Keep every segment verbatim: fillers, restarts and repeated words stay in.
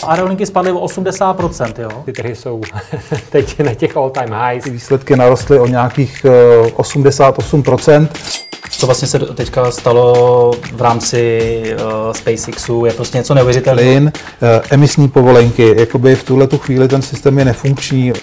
Aerolinky spadly o osmdesát procent, jo? Ty trhy jsou teď na těch all time highs. Výsledky narostly o nějakých osmdesát osm procent. Co vlastně se teďka stalo v rámci uh, SpaceXu, je prostě něco neuvěřitelného. Plyn, uh, emisní povolenky, jakoby v tuhletu chvíli ten systém je nefunkční.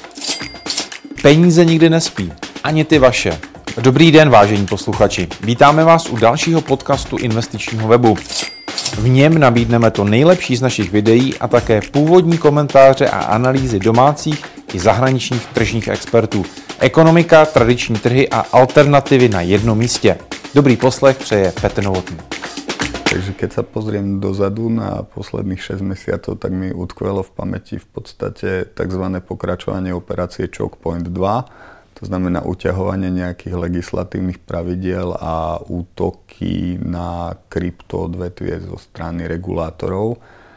Peníze nikdy nespí, ani ty vaše. Dobrý den, vážení posluchači. Vítáme vás u dalšího podcastu investičního webu. V něm nabídneme to nejlepší z našich videí a také původní komentáře a analýzy domácích i zahraničních tržních expertů. Ekonomika, tradiční trhy a alternativy na jednom místě. Dobrý poslech přeje Petr Novotný. Takže keď sa pozriem dozadu na posledných šesť mesiacov, tak mi utkvelo v pamäti v podstate tzv. Pokračovanie operácie Choke Point dva. To znamená uťahovanie nejakých legislatívnych pravidiel a útoky na kryptoodvetvie zo strany regulátorov.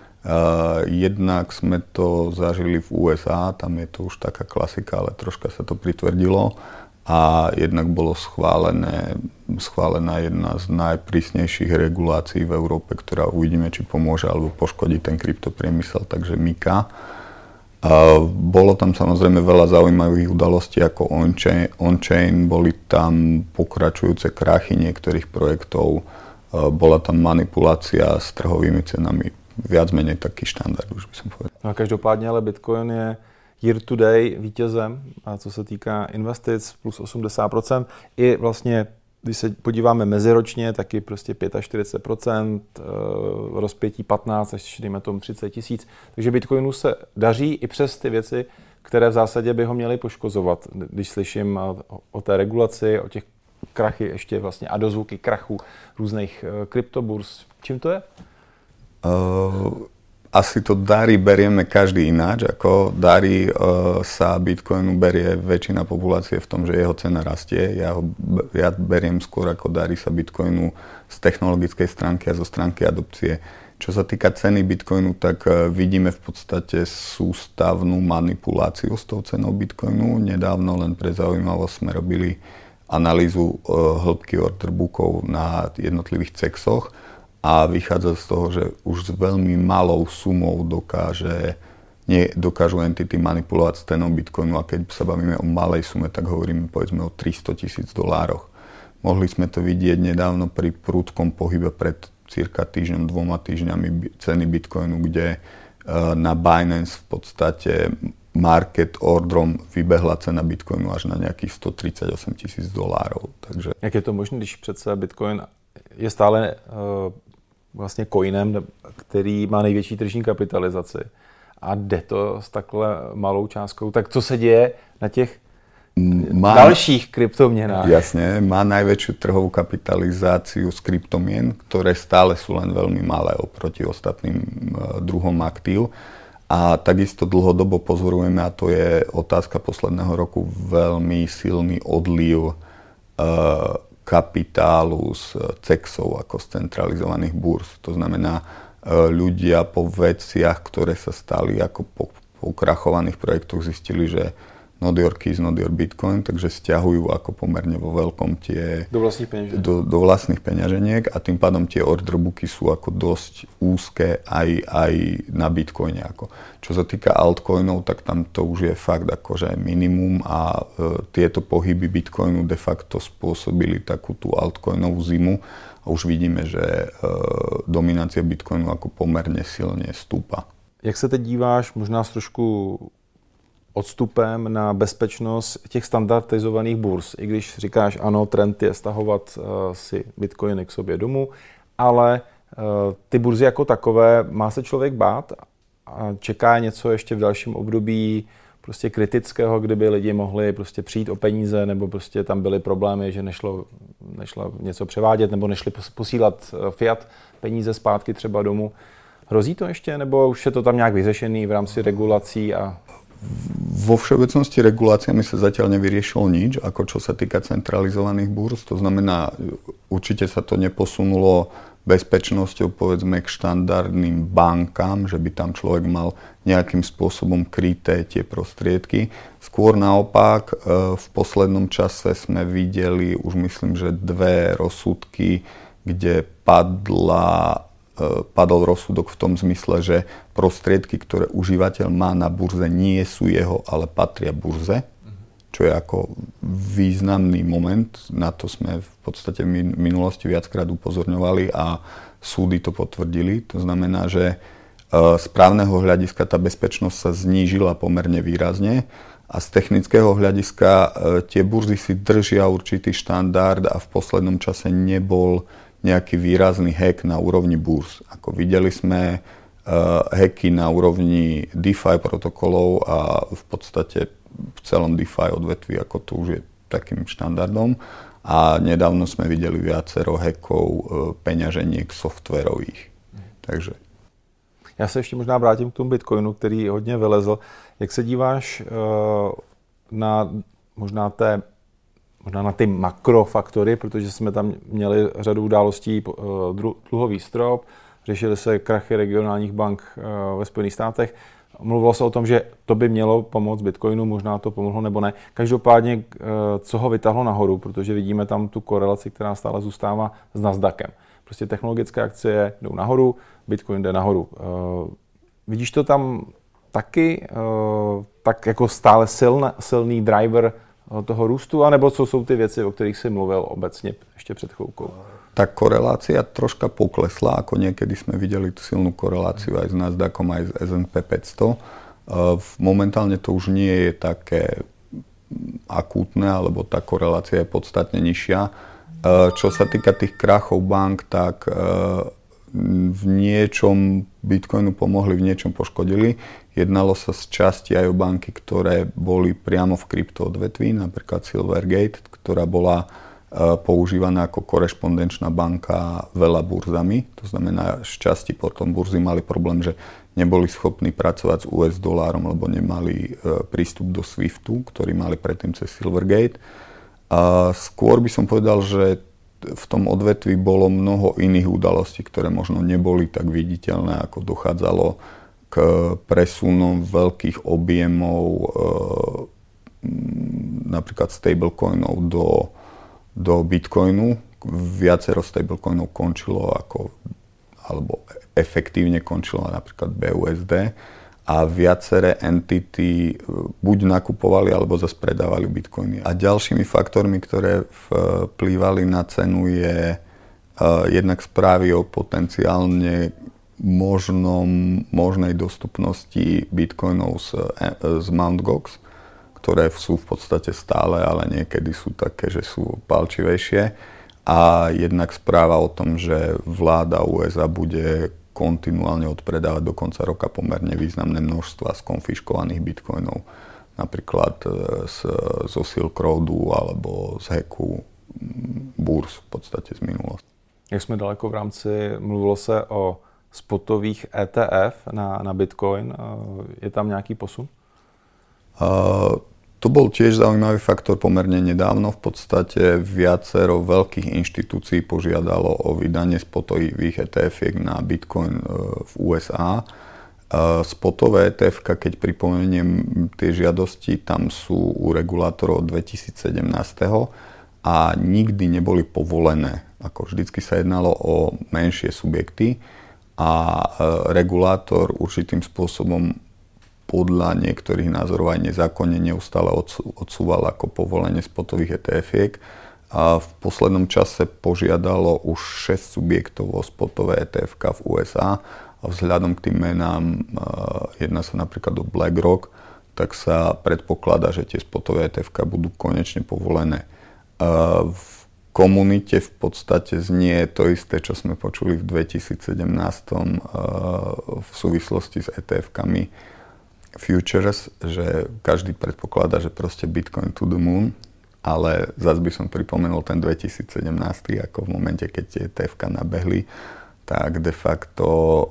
Uh, jednak sme to zažili v ú es á, tam je to už taká klasika, ale troška sa to pritvrdilo. A jednak bolo schválené, schválená jedna z najprísnejších regulácií v Európe, ktorá uvidíme, či pomôže alebo poškodí ten kryptopriemysel, takže MiCA. Uh, bolo tam samozrejme veľa zaujímavých udalostí ako on-chain, on-chain, boli tam pokračujúce krachy niektorých projektov, uh, bola tam manipulácia s trhovými cenami, viac menej taký štandard, už by som povedal. No každopádně ale Bitcoin je year to day vítězem, a co se týká investic, plus osmdesát procent. I vlastně, když se podíváme meziročně, taky prostě čtyřicet pět procent, rozpětí patnáct až dejme tomu třicet tisíc. Takže Bitcoinu se daří i přes ty věci, které v zásadě by ho měly poškozovat. Když slyším o té regulaci, o těch krachy ještě vlastně a dozvuky krachu různých kryptoburs. Čím to je? Uh... Asi to dary berieme každý ináč, ako dary e, sa Bitcoinu berie väčšina populácie v tom, že jeho cena rastie. Ja, ho, ja beriem skôr ako dary sa Bitcoinu z technologickej stránky a zo stránky adopcie. Čo sa týka ceny Bitcoinu, tak e, vidíme v podstate sústavnú manipuláciu s tou cenou Bitcoinu. Nedávno, len pre zaujímavosť, sme robili analýzu e, hĺbky orderbookov na jednotlivých cexoch. A vychádza z toho, že už s veľmi malou sumou dokáže, nie, dokážu entity manipulovať s cenou Bitcoinu, a keď sa bavíme o malej sume, tak hovoríme povedzme o tristo tisíc dolároch. Mohli sme to vidieť nedávno pri prudkom pohybe pred cirka týždňom, dvoma týždňami ceny Bitcoinu, kde na Binance v podstate market orderom vybehla cena Bitcoinu až na nejakých sto tridsaťosem tisíc dolárov. Takže... Jak je to možné, když přece Bitcoin je stále uh, vlastně coinem, který má největší tržní kapitalizaci a jde to s takhle malou částkou, tak co se děje na těch má, dalších kryptoměnách? Jasne, má najväčšiu trhovú kapitalizáciu z kryptomien, ktoré stále sú len veľmi malé oproti ostatným uh, druhom aktív. A takisto dlhodobo pozorujeme, a to je otázka posledného roku, veľmi silný odliv uh, kapitálu z cexov ako z centralizovaných burs. To znamená, ľudia po veciach, ktoré sa stali ako po, po krachovaných projektoch, zistili, že not your keys, not your Bitcoin, takže stiahujú ako pomerne vo veľkom tie do vlastných peňaženiek. Do, do vlastných peňaženiek a tým pádom tie orderbooky sú ako dosť úzke aj, aj na Bitcoine. Ako. Čo sa týka altcoinov, tak tam to už je fakt akože minimum a e, tieto pohyby Bitcoinu de facto spôsobili takú tú altcoinovú zimu a už vidíme, že e, dominácia Bitcoinu ako pomerne silne stúpa. Jak se teď díváš, možná s trošku odstupem na bezpečnost těch standardizovaných burz. I když říkáš, ano, trend je stahovat uh, si bitcoiny k sobě domů, ale uh, ty burzy jako takové, má se člověk bát a čeká něco ještě v dalším období prostě kritického, kdyby lidi mohli prostě přijít o peníze, nebo prostě tam byly problémy, že nešlo, nešlo něco převádět, nebo nešli posílat fiat peníze zpátky třeba domů. Hrozí to ještě, nebo už je to tam nějak vyřešený v rámci regulací a... Vo všeobecnosti reguláciami sa zatiaľ nevyriešilo nič, ako čo sa týka centralizovaných burz. To znamená, určite sa to neposunulo bezpečnosťou povedzme k štandardným bankám, že by tam človek mal nejakým spôsobom kryté tie prostriedky. Skôr naopak, v poslednom čase sme videli už myslím, že dve rozsudky, kde padla padol rozsudok v tom zmysle, že prostriedky, ktoré užívateľ má na burze, nie sú jeho, ale patria burze, čo je ako významný moment. Na to sme v podstate v minulosti viackrát upozorňovali a súdy to potvrdili. To znamená, že z právneho hľadiska tá bezpečnosť sa znížila pomerne výrazne a z technického hľadiska tie burzy si držia určitý štandard a v poslednom čase nebol nejaký výrazný hack na úrovni burz. Ako videli sme uh, hacky na úrovni DeFi protokolov a v podstate v celom DeFi odvetví, ako to už je takým štandardom. A nedávno sme videli viacero hackov uh, peňaženiek softwarových. Takže. Já se ještě možná vrátím k tomu Bitcoinu, který hodně vylezl. Jak se díváš uh, na možná té možná na ty makrofaktory, protože jsme tam měli řadu událostí, dluhový strop, řešily se krachy regionálních bank ve Spojených státech. Mluvilo se o tom, že to by mělo pomoct Bitcoinu, možná to pomohlo nebo ne. Každopádně, co ho vytáhlo nahoru, protože vidíme tam tu korelaci, která stále zůstává s Nasdaqem. Prostě technologické akcie jdou nahoru, Bitcoin jde nahoru. Vidíš to tam taky, tak jako stále silný, silný driver toho růstu, anebo co jsou ty věci, o kterých si mluvil obecně ještě před chvíľkou? Tá korelácia troška poklesla, ako niekedy sme videli tú silnú koreláciu aj s Nasdaqom, aj s es end pé päťsto. Momentálne to už nie je také akútne, alebo tá korelácia je podstatne nižšia. Čo sa týka tých krachov bank, tak v niečom Bitcoinu pomohli, v niečom poškodili. Jednalo sa z časti aj o banky, ktoré boli priamo v kryptoodvetví, napríklad Silvergate, ktorá bola používaná ako korešpondenčná banka veľa burzami. To znamená, z časti potom burzy mali problém, že neboli schopní pracovať s ú es dolárom, lebo nemali prístup do Swiftu, ktorý mali predtým cez Silvergate. A skôr by som povedal, že v tom odvetví bolo mnoho iných udalostí, ktoré možno neboli tak viditeľné, ako dochádzalo k presunom veľkých objemov e, napríklad stablecoinov do, do Bitcoinu. Viacero stablecoinov končilo ako, alebo efektívne končilo napríklad bé ú es dé a viaceré entity buď nakupovali alebo zase predávali bitcoiny. A ďalšími faktormi, ktoré vplývali na cenu, je uh, jednak správy o potenciálne možnom, možnej dostupnosti bitcoinov z, z Mt. Gox, ktoré sú v podstate stále, ale niekedy sú také, že sú palčivejšie. A jednak správa o tom, že vláda ú es á bude kontinuálne odpredávať do konca roka pomerne významné množstva skonfiškovaných bitcoinov. Napríklad z, zo Silk Roadu alebo z hacku burs v podstate z minulosti. Jak jsme daleko v rámci, mluvilo se o spotových é té ef na, na Bitcoin. Je tam nějaký posun? Uh, To bol tiež zaujímavý faktor pomerne nedávno. V podstate viacero veľkých inštitúcií požiadalo o vydanie spotových é té efiek na Bitcoin v ú es á. Spotové é té efka, keď pripomeniem tie žiadosti, tam sú u regulátorov dvetisícsedemnásť a nikdy neboli povolené. Ako vždycky sa jednalo o menšie subjekty a regulátor určitým spôsobom podľa niektorých názorov aj nezákonne neustále odsúval ako povolenie spotových é té efiek. A v poslednom čase požiadalo už šesť subjektov o spotové é té efka v ú es á a vzhľadom k tým menám, jedná sa napríklad o BlackRock, tak sa predpokladá, že tie spotové é té efka budú konečne povolené. V komunite v podstate znie to isté, čo sme počuli v dvetisícsedemnásť v súvislosti s é té efkami futures, že každý predpokladá, že proste Bitcoin to the moon, ale zase by som pripomenul ten dvetisícsedemnásť, ako v momente, keď tie é té efka nabehli, tak de facto uh,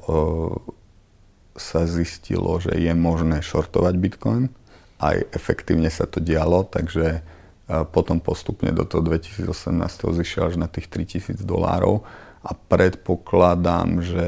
sa zistilo, že je možné shortovať Bitcoin. Aj efektívne sa to dialo, takže uh, potom postupne do toho dvetisícosemnásť zišiel až na tých tritisíc dolárov. A predpokladám, že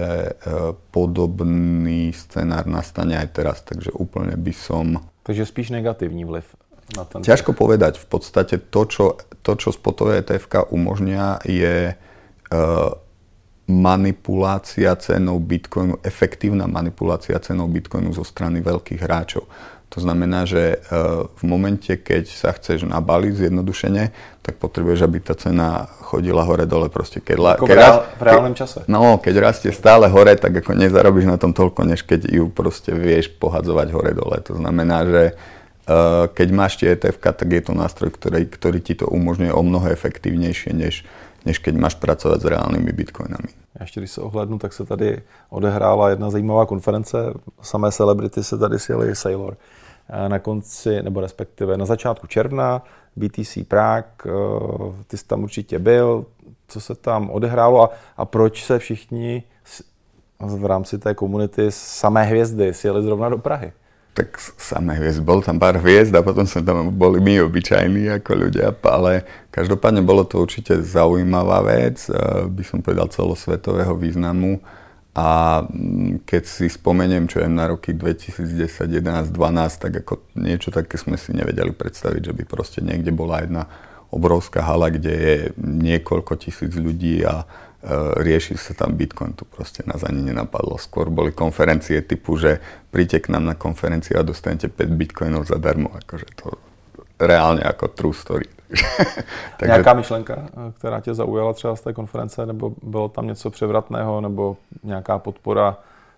podobný scenár nastane aj teraz, takže úplne by som... Takže spíš negatívny vliv na ten... Ťažko povedať. V podstate to, čo, to, čo spotové é té efka umožňa, je uh, manipulácia cenou Bitcoinu, efektívna manipulácia cenou Bitcoinu zo strany veľkých hráčov. To znamená, že v momente, keď sa chceš nabaliť zjednodušene, tak potrebuješ, aby tá cena chodila hore-dole. Proste keď, ako keď v, reál, v reálnom čase. No, keď rastie stále hore, tak ako nezarobíš na tom toľko, než keď ju proste vieš pohadzovať hore-dole. To znamená, že keď máš tie é té efka, tak je to nástroj, ktorý, ktorý ti to umožňuje o mnoho efektívnejšie, než, než keď máš pracovať s reálnymi bitcoinami. Ještě když se ohlédnu, tak se tady odehrála jedna zajímavá konference. Samé celebrity se tady sjeli Sailor. Na konci, nebo respektive na začátku června, bé té cé Prague, ty jsi tam určitě byl, co se tam odehrálo a, a proč se všichni v rámci té komunity samé hvězdy sjeli zrovna do Prahy? Tak samé hviezd, bol tam pár hviezd a potom sme tam boli my obyčajní ako ľudia, ale každopádne bolo to určite zaujímavá vec, by som povedal celosvetového významu a keď si spomeniem, čo je na roky dvetisícdesať, jedenásť, dvanásť, tak ako niečo také sme si nevedeli predstaviť, že by proste niekde bola jedna obrovská hala, kde je niekoľko tisíc ľudí a rieši sa tam Bitcoin, to proste nás ani nenapadlo. Skôr boli konferencie typu, že príďte k nám na konferenciu a dostanete päť Bitcoinov zadarmo. Akože to reálne ako true story. Takže... Nějaká myšlenka, která tě zaujala třeba z té konference, nebo bylo tam něco převratného, nebo nějaká podpora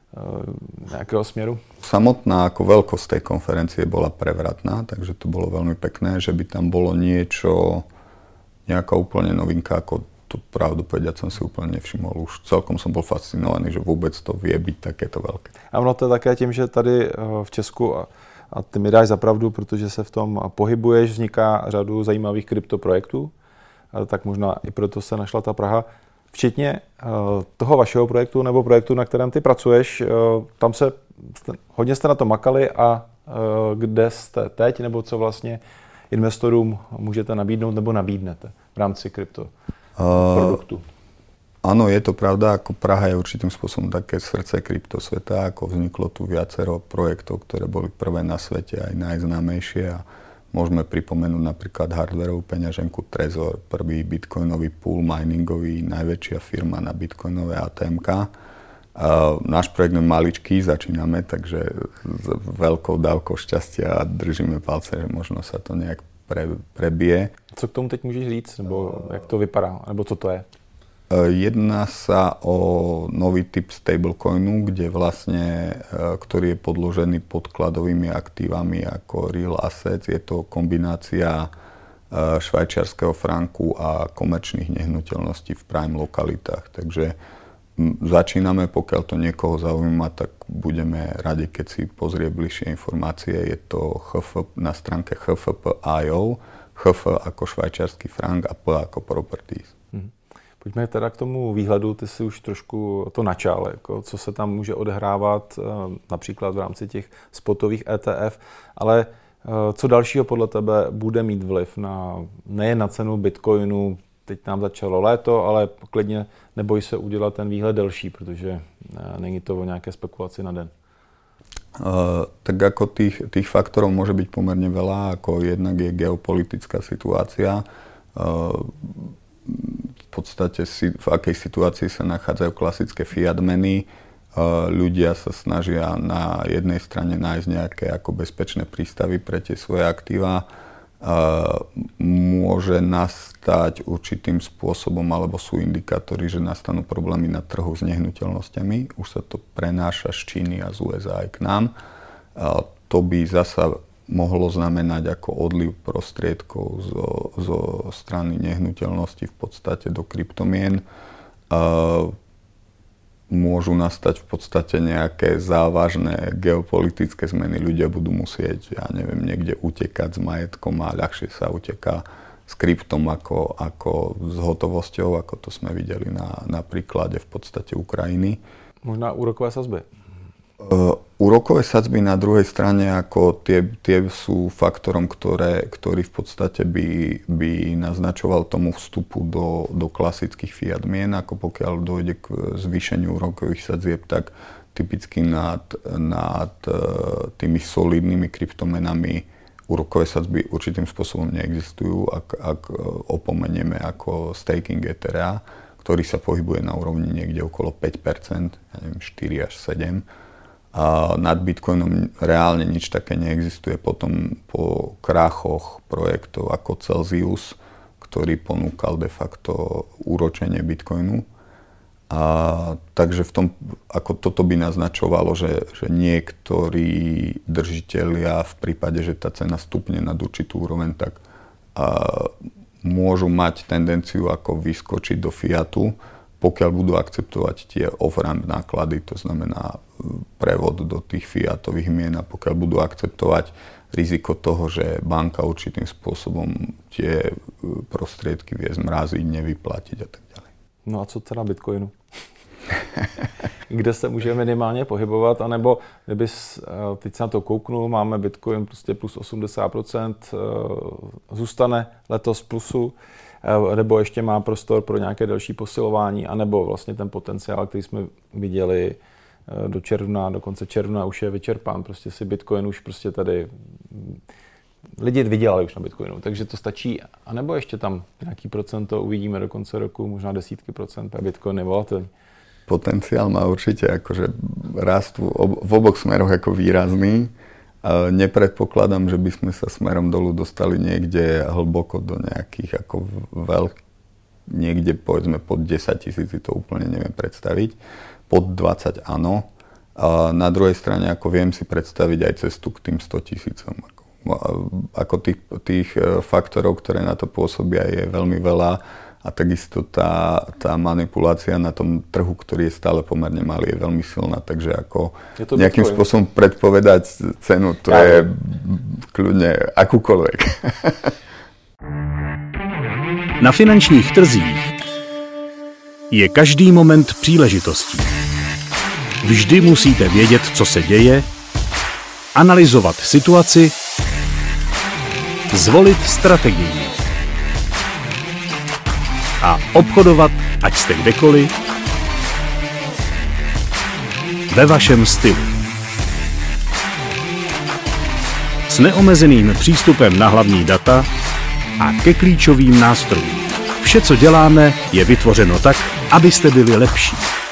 e, nějakého směru? Samotná ako veľkosť tej konferencie bola prevratná, takže to bolo veľmi pekné, že by tam bolo niečo, nejaká úplne novinka, ako to pravdu povedať som si úplne nevšimol. Už celkom som bol fascinovaný, že vôbec to vie byť takéto veľké. A ono to je také tím, že tady v Česku, a, a ty mi dáš za pravdu, protože se v tom pohybuješ, vzniká řadu zajímavých kryptoprojektů, tak možná i proto se našla ta Praha. Včetně toho vašeho projektu nebo projektu, na kterém ty pracuješ, tam se hodně jste na to makali a kde jste teď, nebo co vlastně investorům můžete nabídnout nebo nabídnete v rámci krypto produktu? Uh, áno, je to pravda, ako Praha je určitým spôsobom také srdce kryptosveta, ako vzniklo tu viacero projektov, ktoré boli prvé na svete, aj najznámejšie a môžeme pripomenúť napríklad hardwareovú peňaženku Trezor, prvý bitcoinový pool miningový, najväčšia firma na bitcoinové á té emka. Uh, náš projekt je maličký, začíname, takže s veľkou dávkou šťastia držíme palce, že možno sa to nejak pre, prebije. Co k tomu teď můžeš říct, nebo jak to vypadá, nebo co to je? Jedná sa o nový typ stablecoinu, kde vlastne, ktorý je podložený podkladovými aktívami ako real assets. Je to kombinácia švajčiarskeho franku a komerčných nehnuteľností v prime lokalitách. Takže začíname, pokiaľ to niekoho zaujíma, tak budeme radi, keď si pozrie bližšie informácie. Je to há ef na stránke há ef pé bodka í ó, há ef ako švajčiarsky frank a P ako properties. Hmm. Pojďme teda k tomu výhledu, ty si už trošku to načal, jako co se tam může odehrávat například v rámci těch spotových é té ef, ale co dalšího podle tebe bude mít vliv na, nejen na cenu Bitcoinu, teď nám začalo léto, ale klidně neboj se udělat ten výhled delší, protože není to o nějaké spekulaci na den. Uh, tak ako tých, tých faktorov môže byť pomerne veľa, ako jednak je geopolitická situácia. Uh, v podstate si, v akej situácii sa nachádzajú klasické fiat meny. Uh, ľudia sa snažia na jednej strane nájsť nejaké ako bezpečné prístavy pre tie svoje aktíva. Uh, môže nastať určitým spôsobom, alebo sú indikátory, že nastanú problémy na trhu s nehnuteľnosťami. Už sa to prenáša z Číny a z ú es á aj k nám. Uh, to by zasa mohlo znamenať ako odliv prostriedkov zo, zo strany nehnuteľnosti v podstate do kryptomien. Uh, môžu nastať v podstate nejaké závažné geopolitické zmeny. Ľudia budú musieť, ja neviem, niekde utekať s majetkom a ľahšie sa uteká s kryptom ako, ako s hotovosťou, ako to sme videli na, na príklade v podstate Ukrajiny. Možná úrokové sadzby. Uh, úrokové sadzby na druhej strane ako tie, tie sú faktorom, ktoré, ktorý v podstate by, by naznačoval tomu vstupu do, do klasických fiat mien, ako pokiaľ dojde k zvýšeniu úrokových sadzieb, tak typicky nad, nad uh, tými solidnými kryptomenami úrokové sadzby určitým spôsobom neexistujú, ak, ak opomenieme ako staking Ethera, ktorý sa pohybuje na úrovni niekde okolo päť percent, ja neviem, štyri až sedem. A nad Bitcoinom reálne nič také neexistuje. Potom po krachoch projektov ako Celsius, ktorý ponúkal de facto úročenie Bitcoinu. A takže v tom, ako toto by naznačovalo, že, že niektorí držitelia v prípade, že tá cena stupne nad určitú úroveň, tak a, môžu mať tendenciu ako vyskočiť do fiatu, pokiaľ budú akceptovať tie off-ramp náklady, to znamená prevod do tých fiatových mien, a pokiaľ budú akceptovať riziko toho, že banka určitým spôsobom tie prostriedky vie zmraziť, nevyplatiť a tak ďalej. No a co teda Bitcoinu? Kde se může minimálně pohybovat, anebo kdybys teď se na to kouknul, máme Bitcoin prostě plus osmdesát procent, zůstane letos plusu, nebo ještě má prostor pro nějaké další posilování, anebo vlastně ten potenciál, který jsme viděli do června, do konce června už je vyčerpán. Prostě si Bitcoin už prostě tady lidi vydělali už na Bitcoinu, takže to stačí. A nebo ještě tam nějaký procento uvidíme do konce roku, možná desítky procent, a Bitcoin je volatilní. Potenciál má určite akože rast v oboch smeroch ako výrazný. Nepredpokladám, že by sme sa smerom dolu dostali niekde hlboko do nejakých ako veľk, niekde povedzme pod desať tisíc, to úplne neviem predstaviť. Pod dvadsať áno. A na druhej strane ako viem si predstaviť aj cestu k tým sto tisícom. Ako, ako tých, tých faktorov, ktoré na to pôsobia, je veľmi veľa. A takisto tá, tá manipulácia na tom trhu, ktorý je stále pomerne malý, je veľmi silná. Takže ako nejakým Bitcoin spôsobom predpovedať cenu, to ja, je kľudne akúkoľvek. Na finančních trzích je každý moment příležitostí. Vždy musíte vědět, co se děje, analyzovat situaci, zvolit strategii a obchodovat, ať jste kdekoliv, ve vašem stylu. S neomezeným přístupem na hlavní data a ke klíčovým nástrojům. Vše, co děláme, je vytvořeno tak, abyste byli lepší.